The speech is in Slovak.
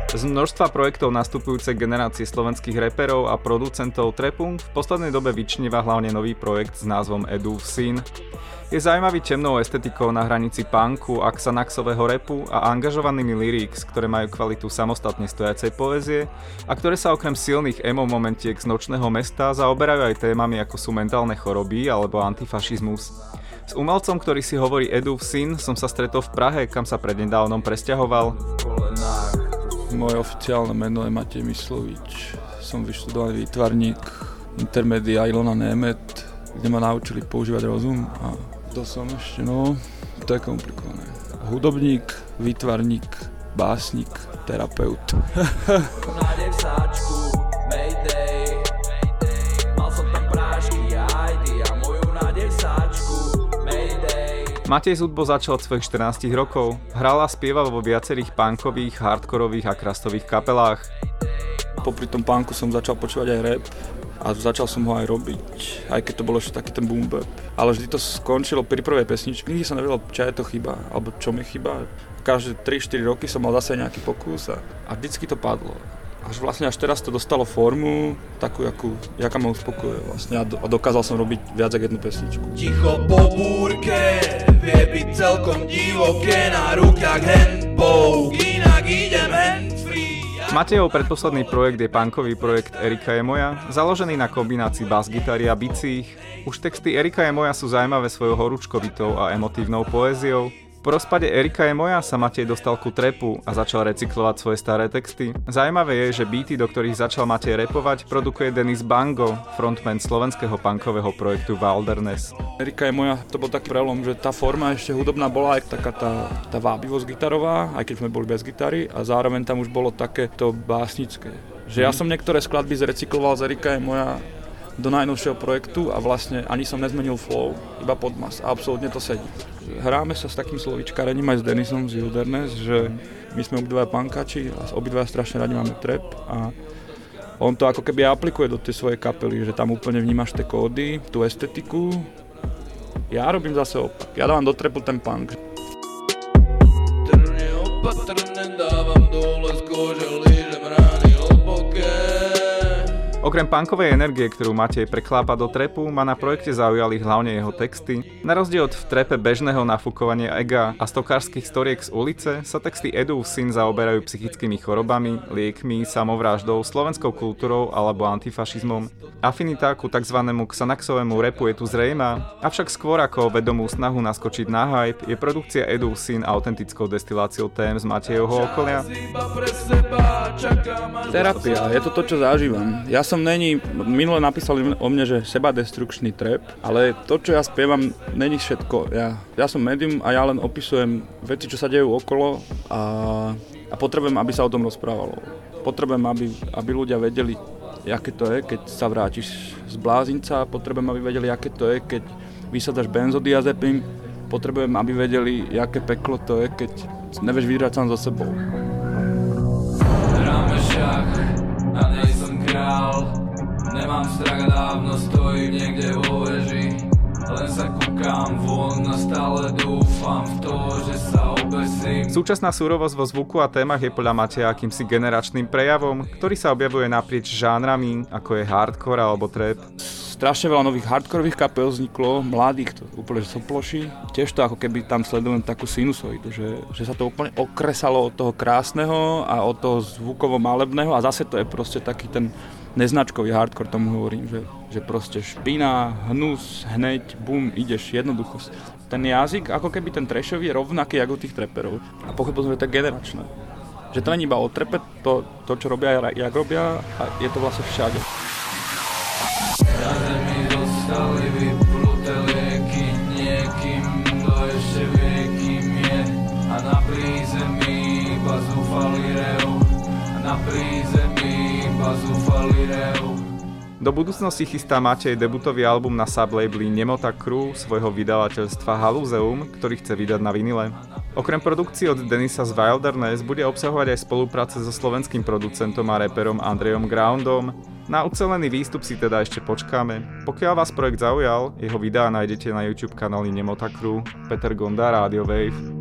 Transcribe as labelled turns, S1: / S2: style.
S1: Z množstva projektov nastupujúcej generácie slovenských reperov a producentov trapu v poslednej dobe vyčnieva hlavne nový projekt s názvom Edův syn. Je zaujímavý temnou estetikou na hranici punku a xanaxového rapu a angažovanými lyrics, ktoré majú kvalitu samostatne stojacej poézie a ktoré sa okrem silných emo momentiek z nočného mesta zaoberajú aj témami ako sú mentálne choroby alebo antifašizmus. S umelcom, ktorý si hovorí Edův syn, som sa stretol v Prahe, kam sa prednedávnom presťahoval.
S2: Moje oficiálne meno je Matej Myslovič. Som vyštudovaný výtvarník Intermedia Ilona Német, kde ma naučili používať rozum. A to som ešte, to je komplikované. Hudobník, výtvarník, básnik, terapeut.
S1: Matej s hudbou začal od svojich 14 rokov, hral a spieval vo viacerých punkových, hardkorových a crustových kapelách.
S2: Popri tom punku som začal počúvať aj rap a začal som ho aj robiť, aj keď to bolo ešte taký ten boom bap. Ale vždy to skončilo pri prvej pesničke, nikdy som nevedel, čo je to chyba, alebo čo mi chyba. Každé 3-4 roky som mal zase nejaký pokus a vždycky to padlo. Až teraz to dostalo formu takú, jaká ma uspokojuje vlastne a dokázal som robiť viac ako jednu pesničku.
S3: Ticho po búrke, vie byť celkom divoké, na rukách handpoke, inak idem handfree.
S1: Matejov predposledný projekt je punkový projekt Erika je moja, založený na kombinácii bas-gitary a bicích. Už texty Erika je moja sú zaujímavé svojou horúčkovitou a emotívnou poéziou. Po rozpade Erika je moja sa Matej dostal ku trapu a začal recyklovať svoje staré texty. Zaujímavé je, že beaty, do ktorých začal Matej rapovať, produkuje Denis Bango, frontman slovenského punkového projektu Wilderness.
S2: Erika je moja, to bol taký prelom, že tá forma ešte hudobná bola aj taká tá vábivosť gitarová, aj keď sme boli bez gitary a zároveň tam už bolo takéto básnické. Že ja som niektoré skladby zrecykloval z Erika je moja do najnovšieho projektu a vlastne ani som nezmenil flow, iba podmas a absolútne to sedí. Hráme sa s takým slovíčkarením aj s Denisom z Wilderness, že my sme obidvaja punkači a obidvaja strašne radi máme trap a on to ako keby aplikuje do tej svojej kapely, že tam úplne vnímaš tie kódy, tú estetiku. Ja robím zase opak, ja dávam do trapu ten punk.
S3: Trne opatrne dávam dole z kože, lížem rány hlboké.
S1: Okrem punkovej energie, ktorú Matej preklápa do trapu, ma na projekte zaujali hlavne jeho texty. Na rozdiel od v trape bežného nafúkovania ega a stokárskych storiek z ulice sa texty Edův syn zaoberajú psychickými chorobami, liekmi, samovraždou, slovenskou kultúrou alebo antifašizmom. Afinita ku tzv. Xanaxovému rapu je tu zrejmá, avšak skôr ako vedomú snahu naskočiť na hype je produkcia Edův syn autentickou destiláciou tém z Matejovho okolia.
S2: Terapia, je to, čo zažívam. Ja som minule napísali o mne, že sebadestrukčný trap, ale to, čo ja spievam, není všetko. Ja som médium a ja len opisujem veci, čo sa dejú okolo a potrebujem, aby sa o tom rozprávalo. Potrebujem, aby ľudia vedeli, aké to je, keď sa vrátiš z blázinca, potrebujem, aby vedeli, aké to je, keď vysadaš benzodiazepín, potrebujem, aby vedeli, aké peklo to je, keď nevieš vyhrať sám so sebou.
S3: Hráme šach a nejsem král, nemám strach a dávno stojím niekde vo veži, len sa kúkam von a stále dúfam v to, že sa obesím.
S1: Súčasná súrovosť vo zvuku a témach je podľa Mateja akýmsi generačným prejavom, ktorý sa objavuje naprieč žánrami, ako je hardcore alebo trap.
S2: Strašne veľa nových hardkorových kapel vzniklo, mladých, to úplne soploší. Tiež to ako keby tam sledujem takú sinusoidu, že sa to úplne okresalo od toho krásneho a od toho zvukovo-malebného a zase to je proste taký ten neznačkový hardcore, tomu hovorím, že proste špina, hnus, hneď, bum, ideš, jednoducho. Ten jazyk, ako keby ten trashový je rovnaký ako u tých trapperov. A pochopil som, že to je generačné. Že to nie iba o trape, to, čo robia, jak robia, a je to vlastne všade.
S3: Na zemi zostali vypluté lieky niekým, kto ešte vie, kým je. A na prízemí iba zúfalý rev.
S1: Do budúcnosti chystá Matej debutový album na sublabeli Nemota Crew svojho vydavateľstva Halúzeum, ktorý chce vydať na vinile. Okrem produkcií od Denisa z Wilderness bude obsahovať aj spolupráce so slovenským producentom a raperom Andrejom Groundom. Na ucelený výstup si teda ešte počkáme. Pokiaľ vás projekt zaujal, jeho videá nájdete na YouTube kanáli Nemota Crew. Peter Gonda, Radio Wave.